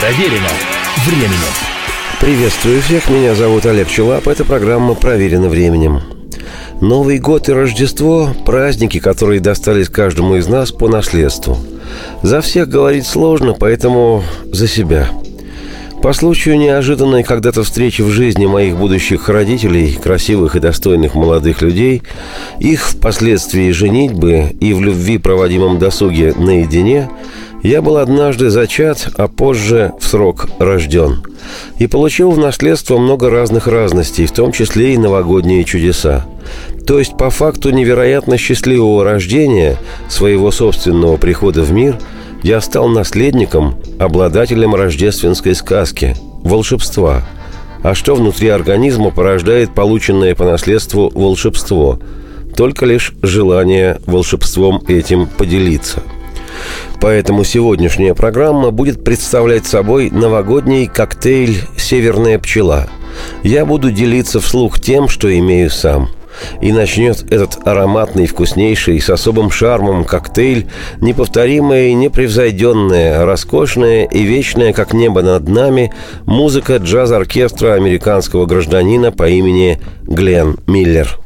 Проверено временем. Приветствую всех, меня зовут Олег Челап. Это программа «Проверено временем». Новый год и Рождество – праздники, которые достались каждому из нас по наследству. За всех говорить сложно, поэтому за себя. По случаю неожиданной когда-то встречи в жизни моих будущих родителей, красивых и достойных молодых людей, их впоследствии женитьбы и в любви проводимом досуге наедине, я был однажды зачат, а позже в срок рожден. И получил в наследство много разных разностей, в том числе и новогодние чудеса. То есть, по факту невероятно счастливого рождения, своего собственного прихода в мир, я стал наследником, обладателем рождественской сказки, волшебства. А что внутри организма порождает полученное по наследству волшебство? Только лишь желание волшебством этим поделиться. Поэтому сегодняшняя программа будет представлять собой новогодний коктейль «Северная пчела». Я буду делиться вслух тем, что имею сам. И начнет этот ароматный, вкуснейший, с особым шармом коктейль неповторимая и непревзойденная, роскошная и вечная, как небо над нами, музыка джаз-оркестра американского гражданина по имени Глен Миллер.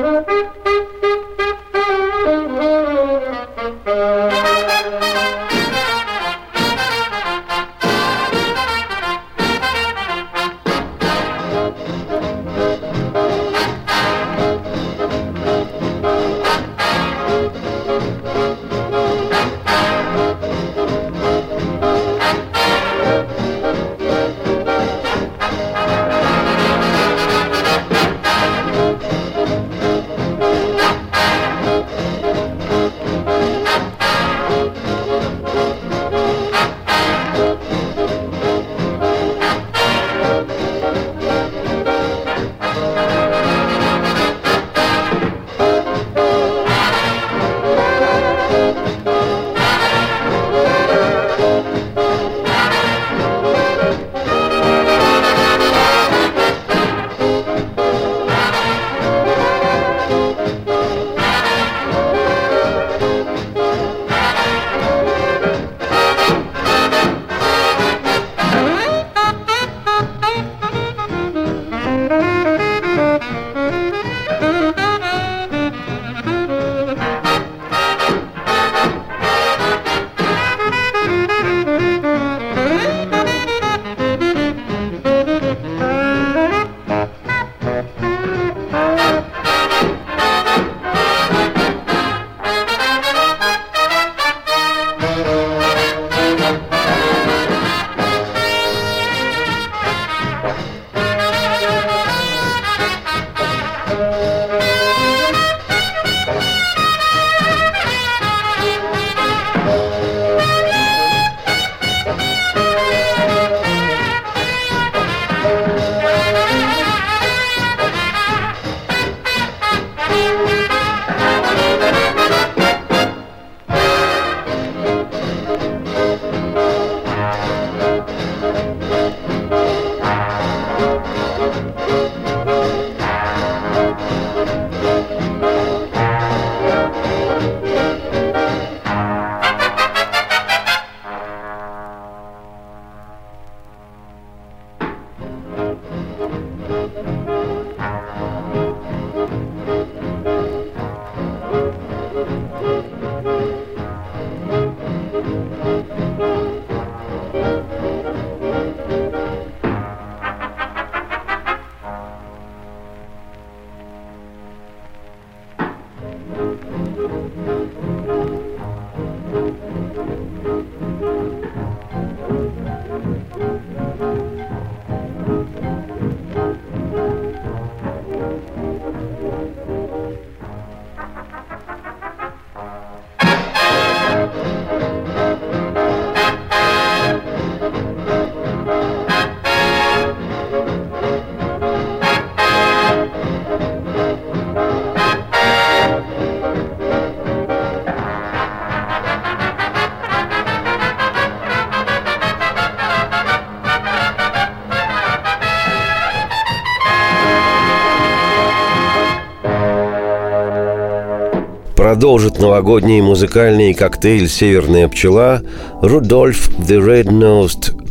Продолжит новогодний музыкальный коктейль «Северная пчела» Рудольф the Red-Nosed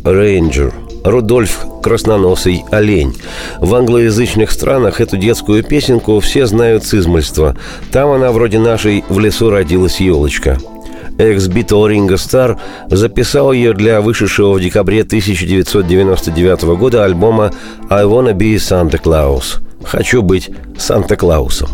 Ranger. Рудольф – красноносый олень. В англоязычных странах эту детскую песенку все знают с измольства. Там она вроде нашей «В лесу родилась елочка». Экс-Битл Ринго Стар записал ее для вышедшего в декабре 1999 года альбома «I Wanna Be Santa Claus» – «Хочу быть Санта-Клаусом».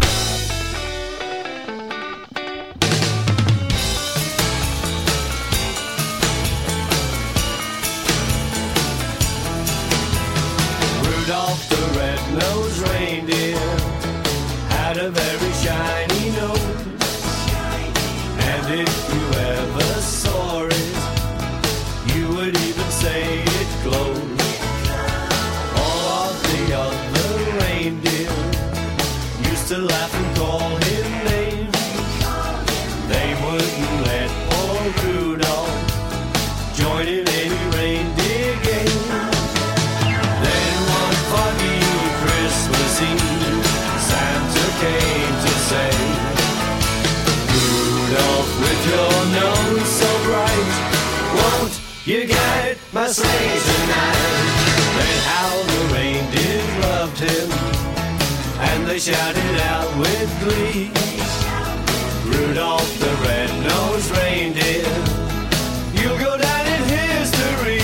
You guide my sleigh tonight. Then how the reindeer loved him, and they shouted out with glee, Rudolph the red-nosed reindeer, you'll go down in history.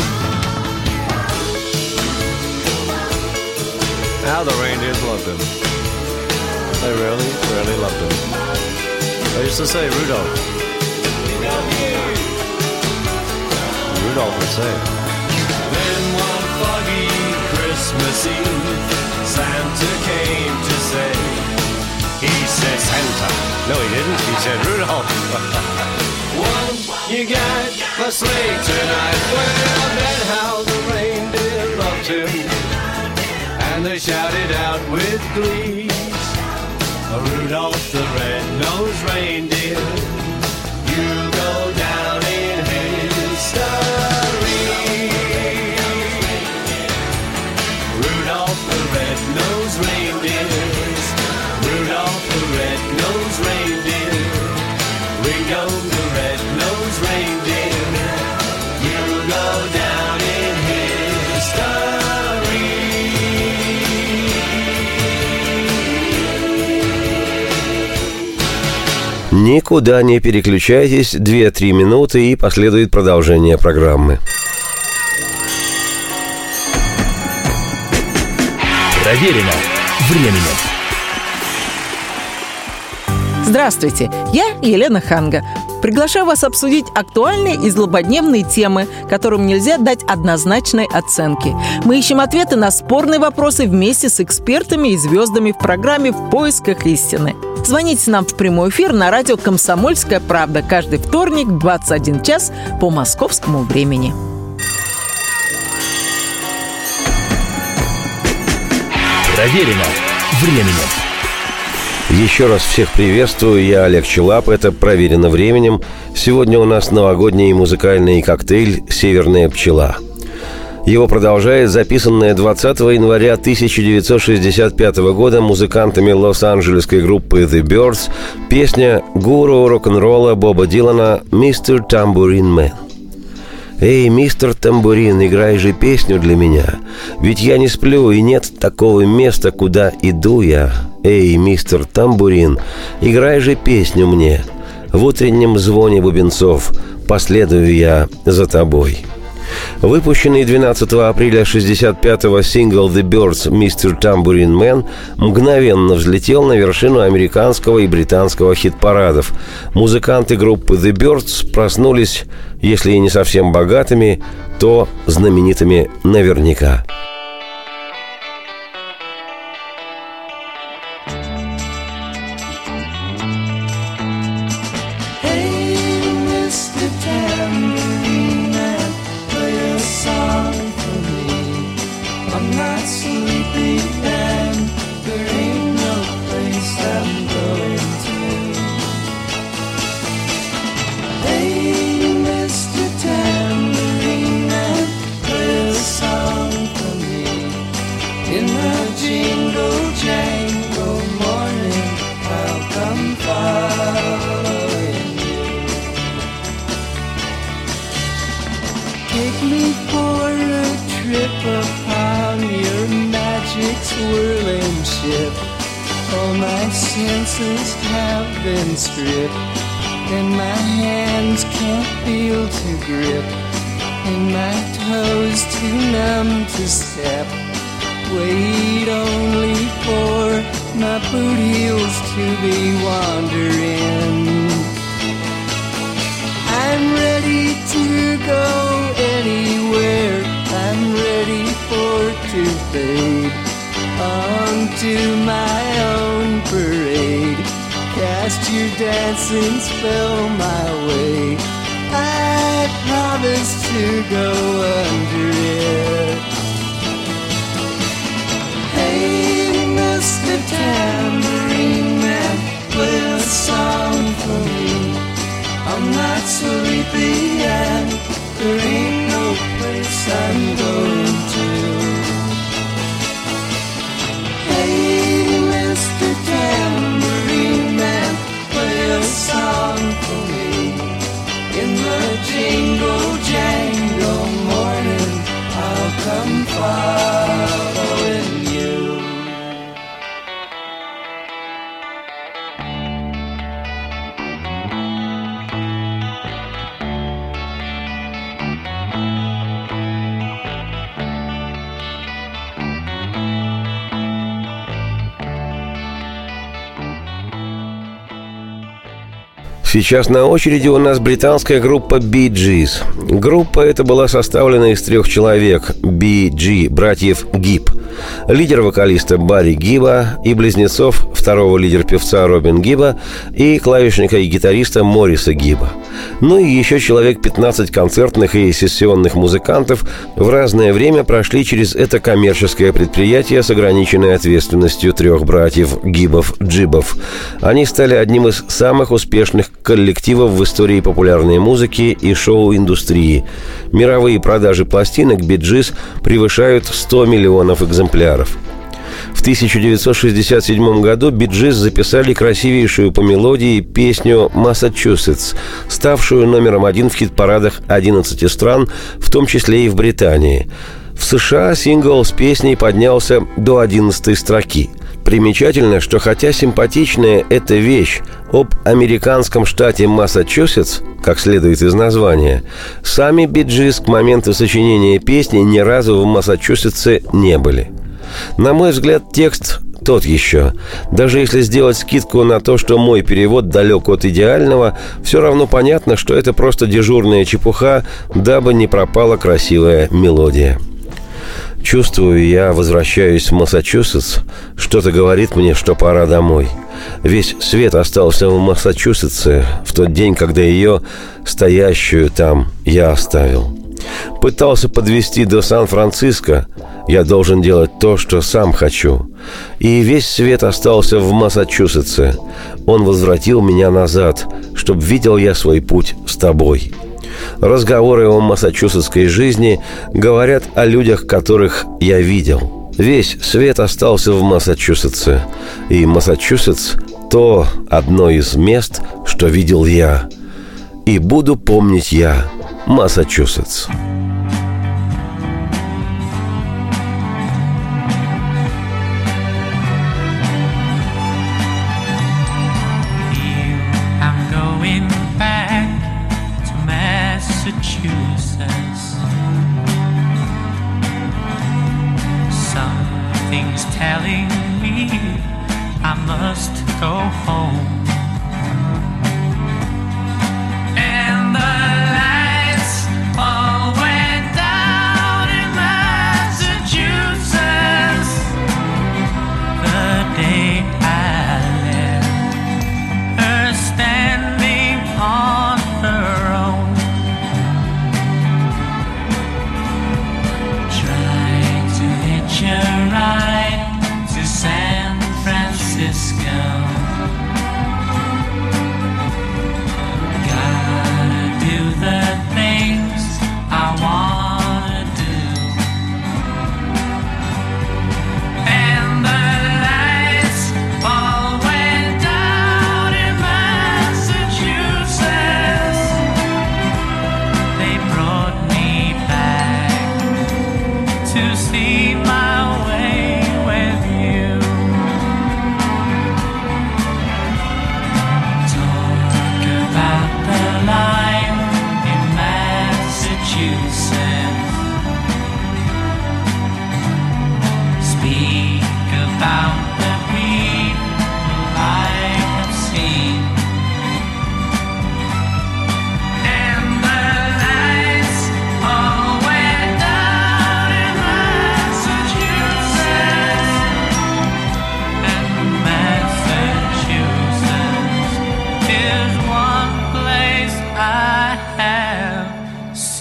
How the reindeers loved him. They really, really loved him. They used to say, Rudolph. Rudolph would say. Then one foggy Christmas Eve, Santa came to say. He said Santa. No, he didn't. He said Rudolph. Won't you guide my sleigh tonight? Well, then how the reindeer loved him, and they shouted out with glee, Rudolph the red-nosed reindeer, you go down in history. Rudolph the red-nosed reindeer, Rudolph the red-nosed reindeer, Ringo the red-nosed reindeer, you'll go down in history. Никуда не переключайтесь, 2-3 минуты и последует продолжение программы. Проверено временем. Здравствуйте, я Елена Ханга. Приглашаю вас обсудить актуальные и злободневные темы, которым нельзя дать однозначной оценки. Мы ищем ответы на спорные вопросы вместе с экспертами и звездами в программе «В поисках истины». Звоните нам в прямой эфир на радио «Комсомольская правда» каждый вторник в 21 час по московскому времени. Проверено временем. Еще раз всех приветствую, я Олег Челап, это «Проверено временем». Сегодня у нас новогодний музыкальный коктейль «Северная пчела». Его продолжает записанная 20 января 1965 года музыкантами лос-анджелесской группы The Byrds песня гуру рок-н-ролла Боба Дилана «Мистер Тамбурин Мэн». «Эй, мистер Тамбурин, играй же песню для меня, ведь я не сплю, и нет такого места, куда иду я. Эй, мистер Тамбурин, играй же песню мне, в утреннем звоне бубенцов последую я за тобой». Выпущенный 12 апреля 1965-го сингл The Byrds «Mr. Tambourine Man» мгновенно взлетел на вершину американского и британского хит-парадов. Музыканты группы The Byrds проснулись, если и не совсем богатыми, то знаменитыми наверняка. Song for me. take me for a trip upon your magic swirling ship. All my senses have been stripped, and my hands can't feel to grip, and my toes too numb to step. Wait only for my boot heels to be wandering. I'm ready to go anywhere. I'm ready for to fade onto my own parade. Cast your dancing spell my way. I promise to go under it. Hey, Mr. Tambourine Man, play a song for me. I'm not sleepy and there ain't no place I'm going to. Hey, Mr. Tambourine Man, play a song for me. In the jingle jangle morning, I'll come following you. Сейчас на очереди у нас британская группа Bee Gees. Группа эта была составлена из 3 человек – Bee Gee, братьев Гиб, лидер-вокалиста Барри Гиба и близнецов, второго лидер-певца Робин Гиба и клавишника и гитариста Мориса Гиба. Ну и еще человек 15 концертных и сессионных музыкантов в разное время прошли через это коммерческое предприятие с ограниченной ответственностью 3 братьев Гибов-Джибов. Они стали одним из самых успешных коллективов в истории популярной музыки и шоу-индустрии. Мировые продажи пластинок Bee Gees превышают 100 миллионов экземпляров. В 1967 году Bee Gees записали красивейшую по мелодии песню «Массачусетс», ставшую номером 1 в хит-парадах 11 стран, в том числе и в Британии. В США сингл с песней поднялся до 11-й строки. Примечательно, что хотя симпатичная эта вещь об американском штате Массачусетс, как следует из названия, сами Bee Gees к моменту сочинения песни ни разу в Массачусетсе не были. На мой взгляд, текст тот еще. Даже если сделать скидку на то, что мой перевод далек от идеального, все равно понятно, что это просто дежурная чепуха, дабы не пропала красивая мелодия. Чувствую, я возвращаюсь в Массачусетс. Что-то говорит мне, что пора домой. Весь свет остался в Массачусетсе в тот день, когда ее, стоящую там, я оставил. Пытался подвезти до Сан-Франциско. Я должен делать то, что сам хочу. И весь свет остался в Массачусетсе. Он возвратил меня назад, чтоб видел я свой путь с тобой. Разговоры о массачусетской жизни говорят о людях, которых я видел. Весь свет остался в Массачусетсе. И Массачусетс – то одно из мест, что видел я. И буду помнить я Массачусетс. Something's telling me I must go home. And the lights always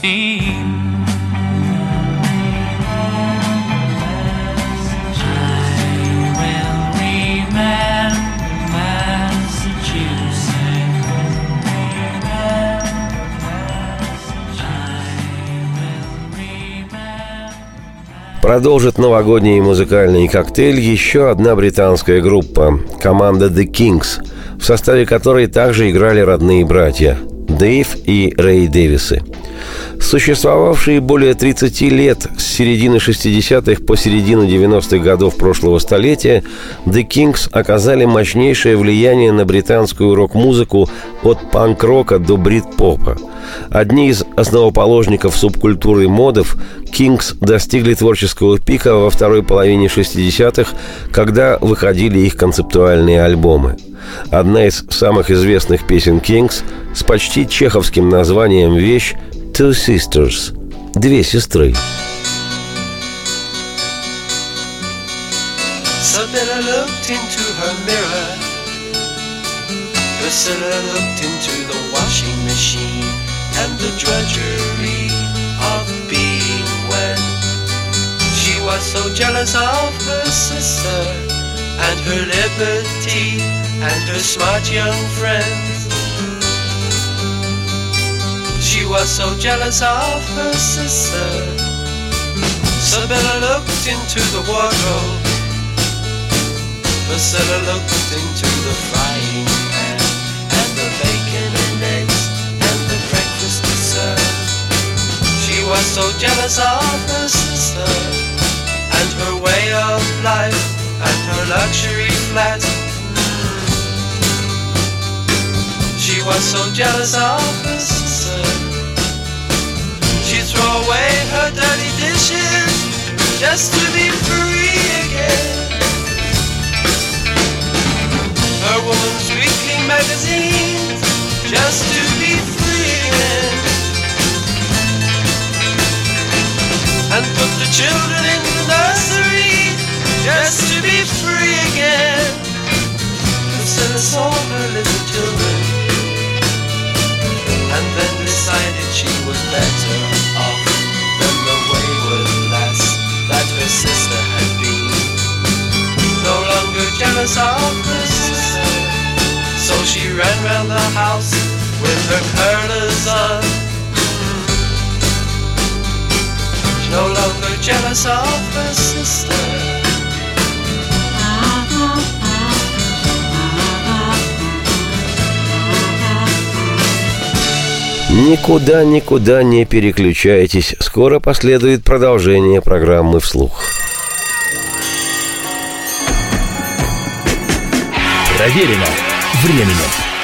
theme. Продолжит новогодний музыкальный коктейль еще одна британская группа – команда The Kings, в составе которой также играли родные братья – Дэйв и Рэй Дэвисы. Существовавшие более 30 лет с середины 60-х по середину 90-х годов прошлого столетия, The Kings оказали мощнейшее влияние на британскую рок-музыку от панк-рока до брит-попа. Одни из основоположников субкультуры модов, Kings достигли творческого пика во второй половине 60-х, когда выходили их концептуальные альбомы. Одна из самых известных песен Kings с почти чеховским названием вещь «Two Sisters» – «Две сестры». Isabella looked into her mirror. Priscilla looked into the washing machine and the drudgery of being wed. She was so jealous of her sister and her liberty and her smart young friends. She was so jealous of her sister. Isabella looked into the wardrobe. Priscilla looked into the frying pan and the bacon and eggs and the breakfast dessert. She was so jealous of her sister and her way of life and her luxury flat. She was so jealous of her sister. She'd throw away her dirty dishes just to be free again. Her woman's weekly magazines just to be free again. And put the children in the nursery just to be free again. Priscilla saw her little children and then decided she was better off than the wayward lass that her sister had been. No longer jealous of her sister, so she ran round the house with her curlers on. She's no longer jealous of her sister. Никуда не переключайтесь. Скоро последует продолжение программы «Вслух». Проверено временем.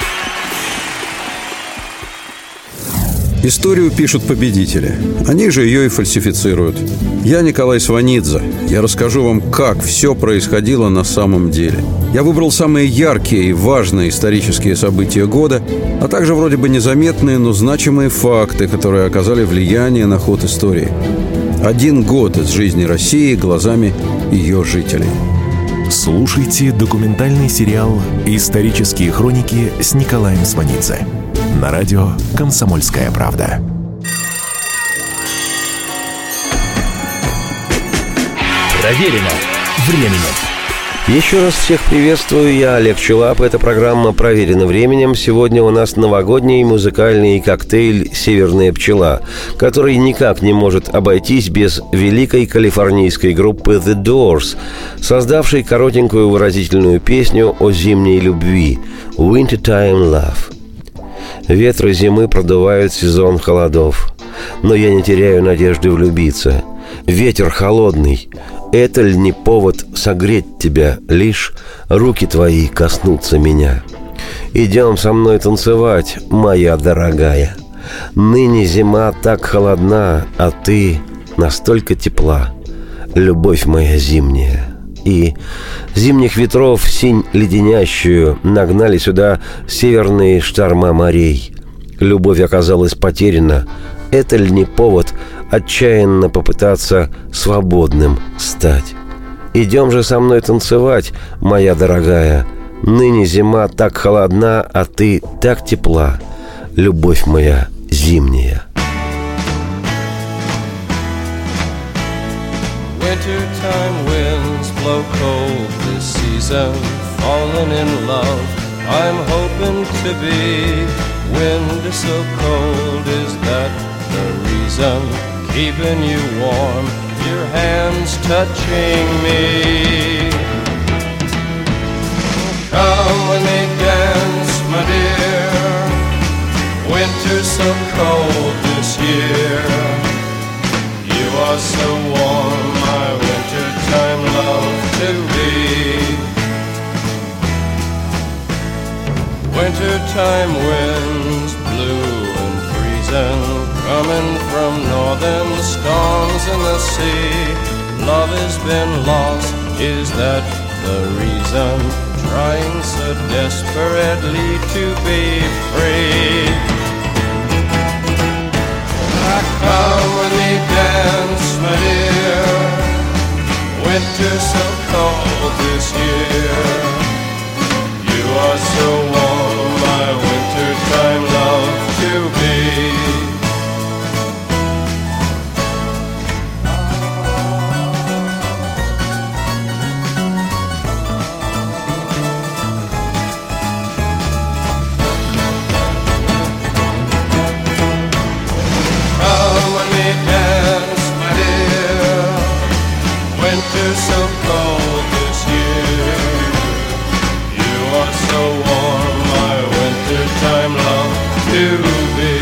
Историю пишут победители. Они же ее и фальсифицируют. Я Николай Сванидзе. Я расскажу вам, как все происходило на самом деле. Я выбрал самые яркие и важные исторические события года, а также вроде бы незаметные, но значимые факты, которые оказали влияние на ход истории. 1 год из жизни России глазами ее жителей. Слушайте документальный сериал «Исторические хроники» с Николаем Сванидзе на радио «Комсомольская правда». Проверено временем. Еще раз всех приветствую, я Олег Челап. Эта программа «Проверено временем». Сегодня у нас новогодний музыкальный коктейль «Северная пчела», который никак не может обойтись без великой калифорнийской группы The Doors, создавшей коротенькую выразительную песню о зимней любви «Wintertime Love». Ветры зимы продувают сезон холодов, но я не теряю надежды влюбиться. Ветер холодный, это ли не повод согреть тебя, лишь руки твои коснутся меня? Идем со мной танцевать, моя дорогая. Ныне зима так холодна, а ты настолько тепла, любовь моя зимняя. И зимних ветров синь леденящую нагнали сюда северные шторма морей. Любовь оказалась потеряна, это ли не повод отчаянно попытаться свободным стать? Идем же со мной танцевать, моя дорогая. Ныне зима так холодна, а ты так тепла, любовь моя зимняя. Wintertime winds blow cold this season, falling in love, I'm hoping to be. Wind is so cold, is that the reason? Keeping you warm, your hands touching me. Come with me, dance, my dear. Winter's so cold this year. You are so warm, my wintertime love to be. Wintertime winds blue and freezing, coming from northern storms in the sea. Love has been lost, is that the reason? Trying so desperately to be free. Come with me, dance, my dear. Winter's so cold this year. You are so warm, my wintertime love to be. Winter's so cold this year. You are so warm, my wintertime love to be.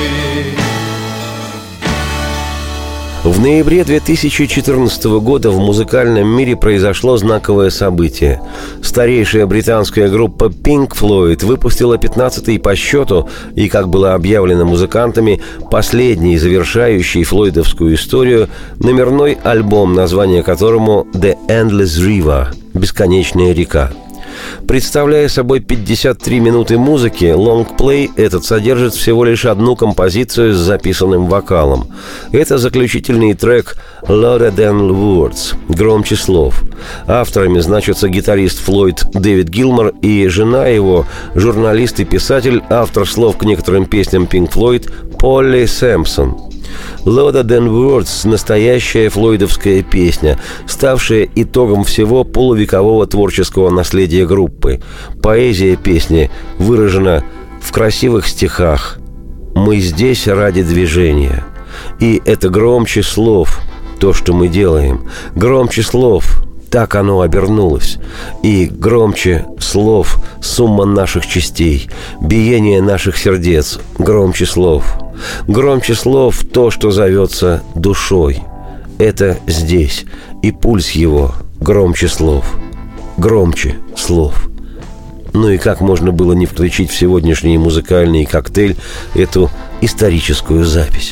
В ноябре 2014 года в музыкальном мире произошло знаковое событие. Старейшая британская группа Pink Floyd выпустила 15-й по счету и, как было объявлено музыкантами, последний, завершающий флойдовскую историю, номерной альбом, название которому «The Endless River» – «Бесконечная река». Представляя собой 53 минуты музыки, лонгплей этот содержит всего лишь одну композицию с записанным вокалом. Это заключительный трек «Louder Than Words» – «Громче слов». Авторами значатся гитарист Флойд Дэвид Гилмор и жена его, журналист и писатель, автор слов к некоторым песням Pink Floyd Полли Сэмпсон. «Louder Than Words» – настоящая флойдовская песня, ставшая итогом всего полувекового творческого наследия группы. Поэзия песни выражена в красивых стихах «Мы здесь ради движения». И это громче слов, то, что мы делаем. Громче слов, так оно обернулось. И громче слов сумма наших частей, биение наших сердец. Громче слов. Громче слов то, что зовется душой. Это здесь, и пульс его громче слов. Громче слов. Ну и как можно было не включить в сегодняшний музыкальный коктейль эту историческую запись?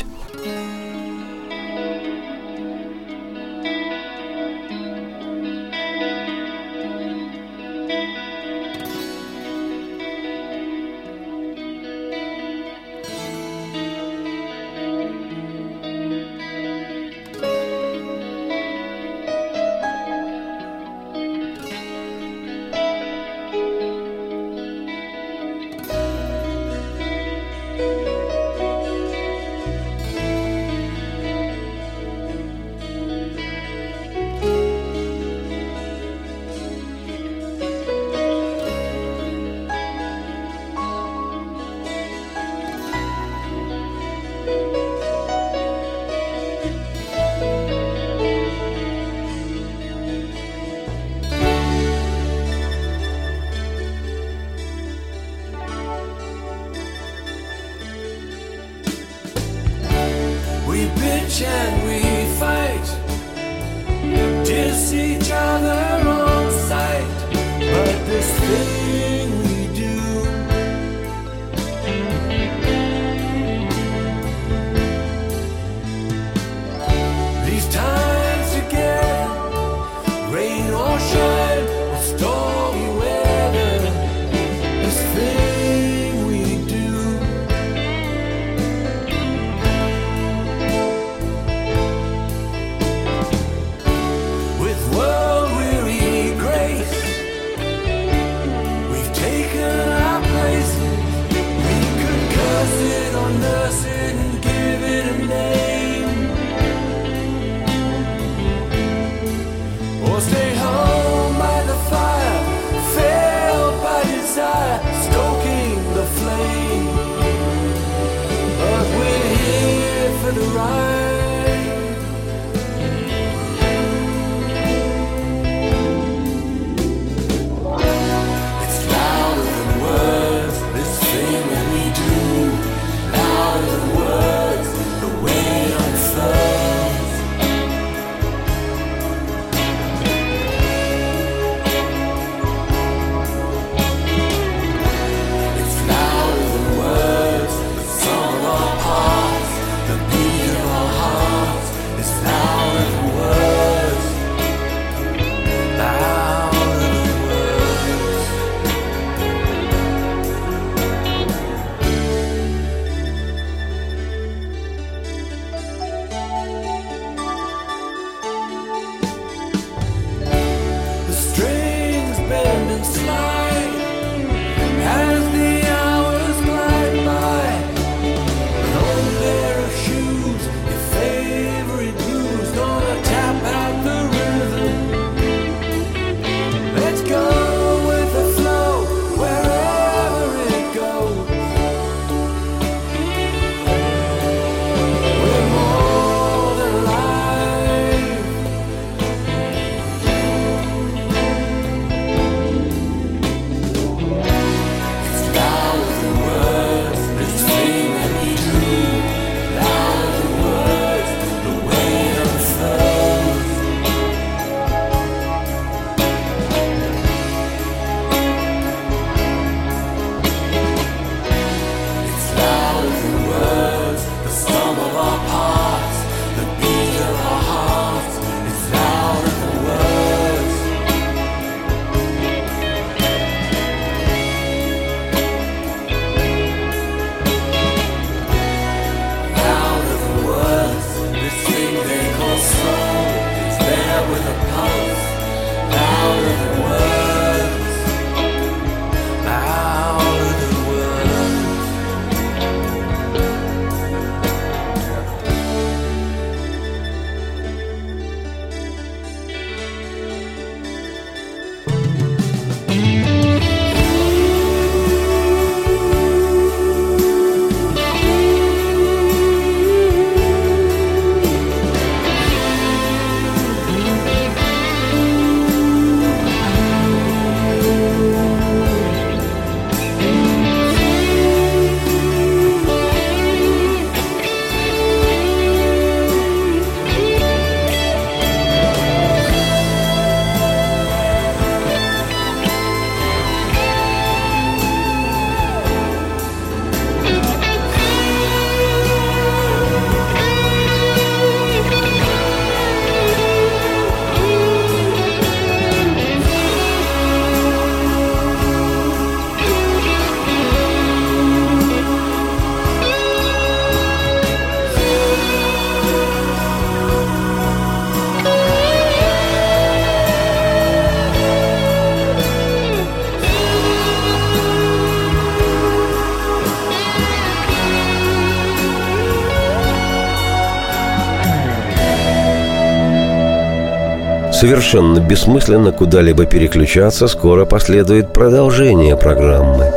Совершенно бессмысленно куда-либо переключаться, скоро последует продолжение программы.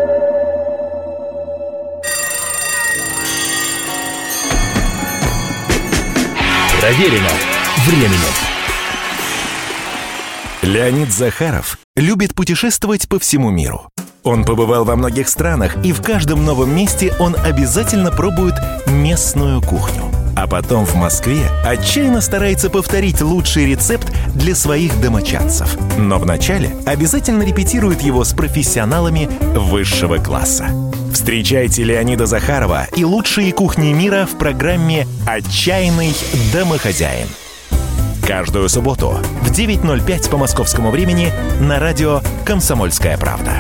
Проверено временем. Леонид Захаров любит путешествовать по всему миру. Он побывал во многих странах, и в каждом новом месте он обязательно пробует местную кухню. А потом в Москве отчаянно старается повторить лучший рецепт для своих домочадцев. Но вначале обязательно репетирует его с профессионалами высшего класса. Встречайте Леонида Захарова и лучшие кухни мира в программе «Отчаянный домохозяин». Каждую субботу в 9:05 по московскому времени на радио «Комсомольская правда».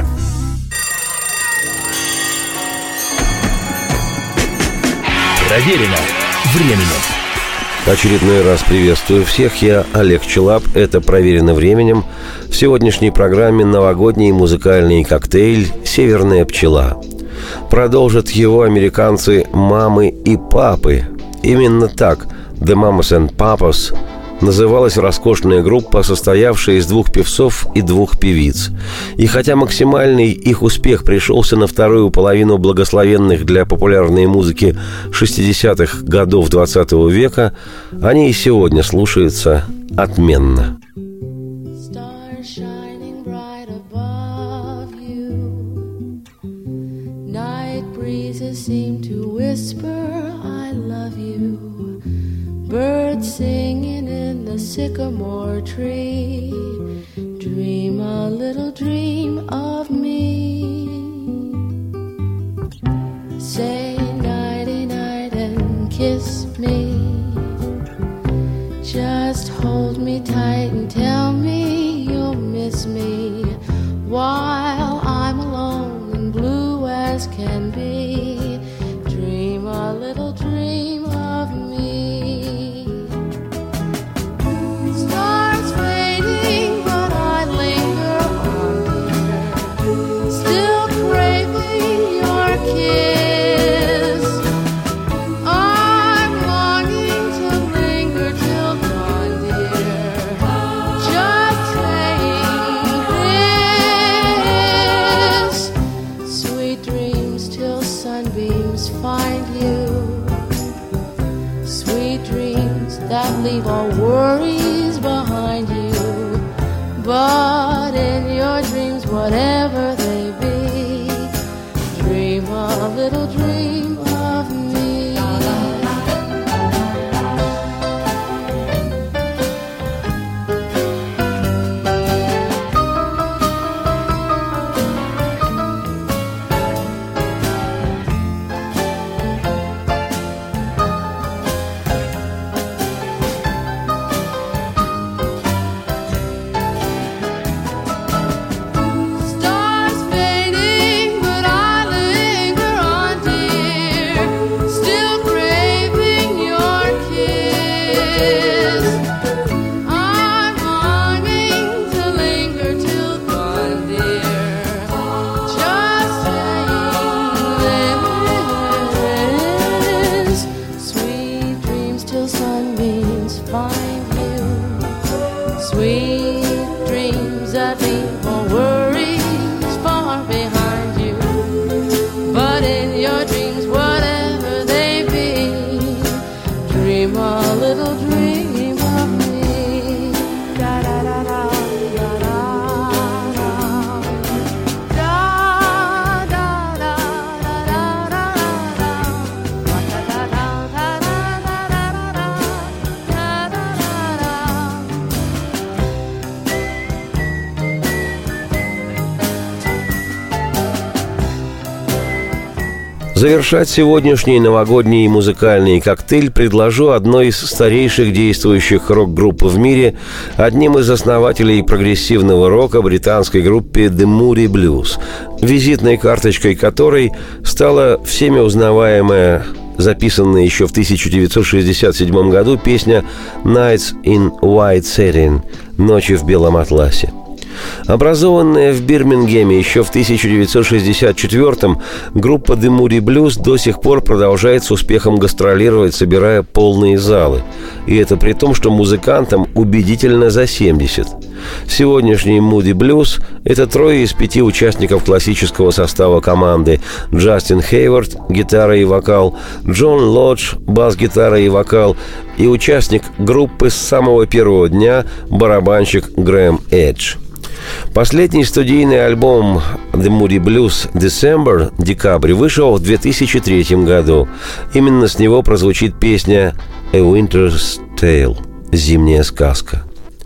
Проверено временем. Очередной раз приветствую всех. Я Олег Челап. Это «Проверено временем». В сегодняшней программе новогодний музыкальный коктейль «Северная пчела». Продолжат его американцы «Мамы и папы». Именно так «The Mamas and Papas» называлась роскошная группа, состоявшая из 2 певцов и 2 певиц. И хотя максимальный их успех пришелся на вторую половину благословенных для популярной музыки 60-х годов 20 века, они и сегодня слушаются отменно. Birds singing in the sycamore tree. Dream a little dream of me. Say nighty night and kiss me. Just hold me tight and tell me you'll miss me while I'm alone and blue as can be. Dream a little dream of me. Stars fading, but I linger on, dear. Still craving your kiss. I'm longing to linger till dawn, dear. Just saying this. Sweet dreams till sunbeams find you. Sweet dreams that leave all worries behind you. But in your dreams, whatever they be, dream a little dream of me. Stars fading, but I linger on, dear. Still craving your kiss. I'm longing to linger till dawn, dear. Just saying this. Sweet dreams till sunbeams find you. Sweet dreams that leave all worries far behind you. But in your dreams, whatever they be, dream a little dream of me. Da da da da da da da. Da da da da da da da. Da da da da da da da da. Da da da da. Завершать сегодняшний новогодний музыкальный коктейль предложу одной из старейших действующих рок-групп в мире, одним из основателей прогрессивного рока, британской группе The Moody Blues, визитной карточкой которой стала всеми узнаваемая, записанная еще в 1967 году песня «Nights in White Satin» – «Ночи в белом атласе». Образованная в Бирмингеме еще в 1964-м, группа The Moody Blues до сих пор продолжает с успехом гастролировать, собирая полные залы. И это при том, что музыкантам убедительно за 70. Сегодняшний Moody Blues – это 3 из 5 участников классического состава команды: Джастин Хейвард – гитара и вокал, Джон Лодж – бас-гитара и вокал, и участник группы с самого первого дня – барабанщик Грэм Эдж. Последний студийный альбом The Moody Blues December, «Декабрь», вышел в 2003 году. Именно с него прозвучит песня A Winter's Tale – «Зимняя сказка».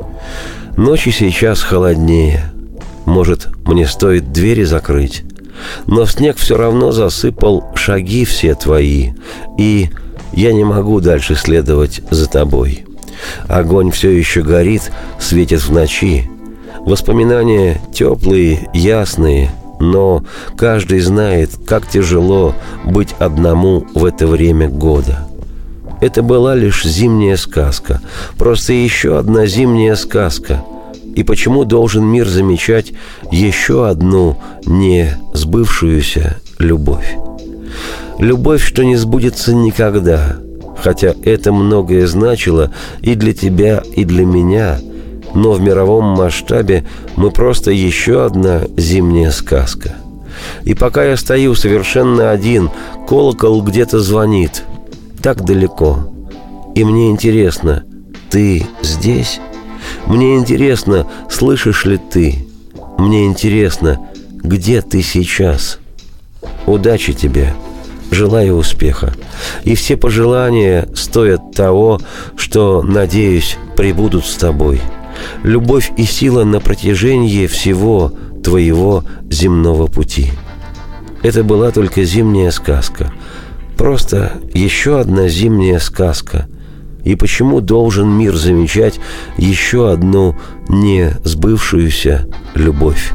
Ночи сейчас холоднее. Может, мне стоит двери закрыть? Но снег все равно засыпал шаги все твои, и я не могу дальше следовать за тобой. Огонь все еще горит, светит в ночи. Воспоминания теплые, ясные, но каждый знает, как тяжело быть одному в это время года. Это была лишь зимняя сказка, просто еще одна зимняя сказка. И почему должен мир замечать еще одну не сбывшуюся любовь? Любовь, что не сбудется никогда, хотя это многое значило и для тебя, и для меня, но в мировом масштабе мы просто еще одна зимняя сказка. И пока я стою совершенно один, колокол где-то звонит, так далеко. И мне интересно, ты здесь? Мне интересно, слышишь ли ты? Мне интересно, где ты сейчас? Удачи тебе, желаю успеха. И все пожелания стоят того, что, надеюсь, прибудут с тобой. Любовь и сила на протяжении всего твоего земного пути. Это была только зимняя сказка. Просто еще одна зимняя сказка. И почему должен мир замечать еще одну не сбывшуюся любовь?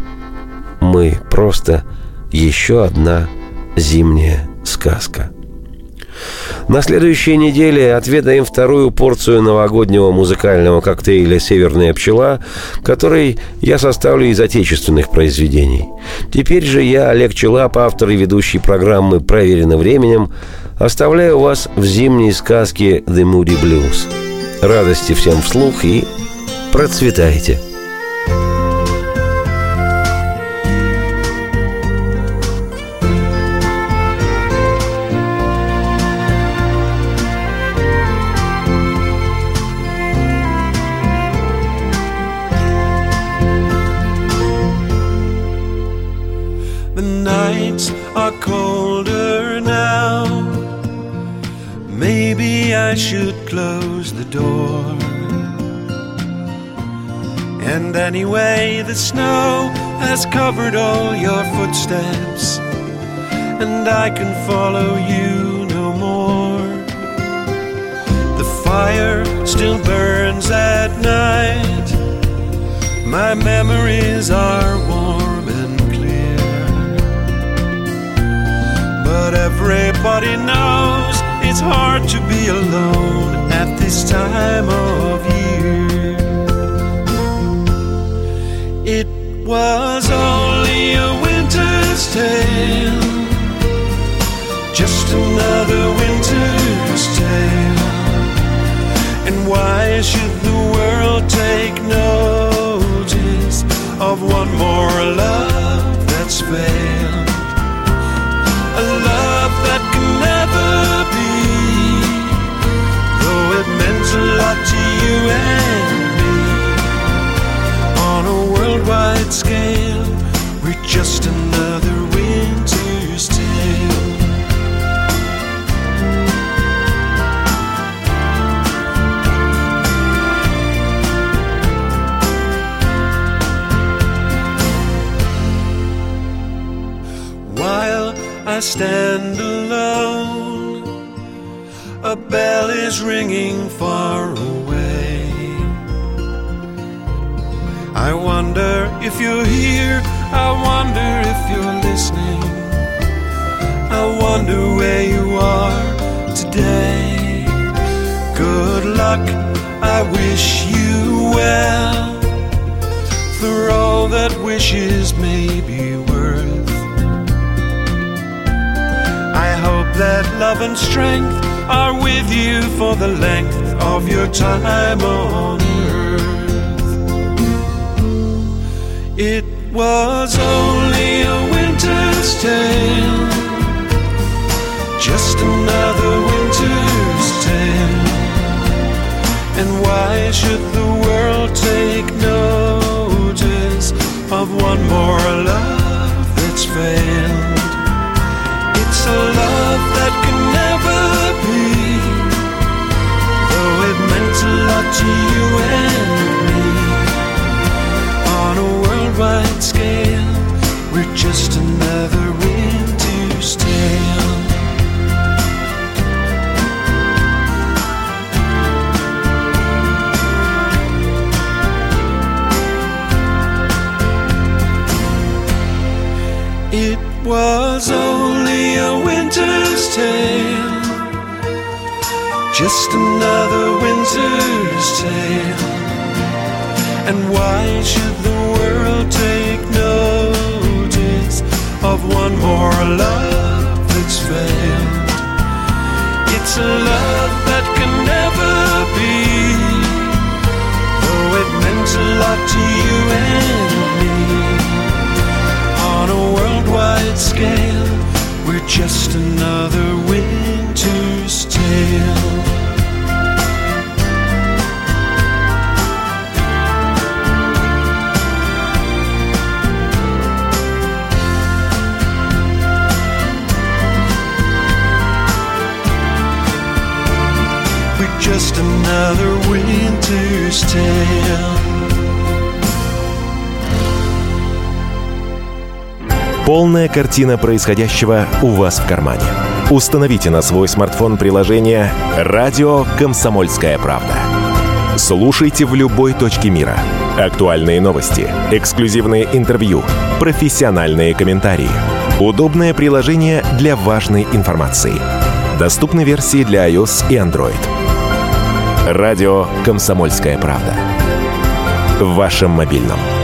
Мы просто еще одна зимняя сказка. На следующей неделе отведаем вторую порцию новогоднего музыкального коктейля «Северная пчела», который я составлю из отечественных произведений. Теперь же я, Олег Челап, автор и ведущий программы «Проверено временем», оставляю вас в зимней сказке The Moody Blues. Радости всем вслух и процветайте! The nights are colder now. Maybe I should close the door. And anyway, the snow has covered all your footsteps, and I can follow you no more. The fire still burns at night. My memories are warm and clear, but everybody knows it's hard to be alone at this time of year. It was only a winter's tale, just another winter's tale. And why should the world take notice of one more love that's failed? A love that can never be, though it meant a lot to you and me. On a worldwide scale, we're just another winter's tale. While I stand alone, a bell is ringing far away. I wonder if you're here, I wonder if you're listening. I wonder where you are today. Good luck, I wish you well. For all that wishes may be worth. I hope that love and strength are with you for the length of your time on earth. It was only a winter's tale, just another winter's tale. And why should the world take notice of one more love that's failed? It's a love that can never be, though it meant a lot to you and me. On a worldwide scale, we're just another winter's tale. It was only a winter's tale, just another winter's tale. And why should the world take notice of one more love that's failed? It's a love that can never be, though it meant a lot to you and me. On a worldwide scale, we're just another winter's tale. We're just another winter's tale. Полная картина происходящего у вас в кармане. Установите на свой смартфон приложение «Радио Комсомольская правда». Слушайте в любой точке мира. Актуальные новости, эксклюзивные интервью, профессиональные комментарии. Удобное приложение для важной информации. Доступны версии для iOS и Android. Радио «Комсомольская правда». В вашем мобильном.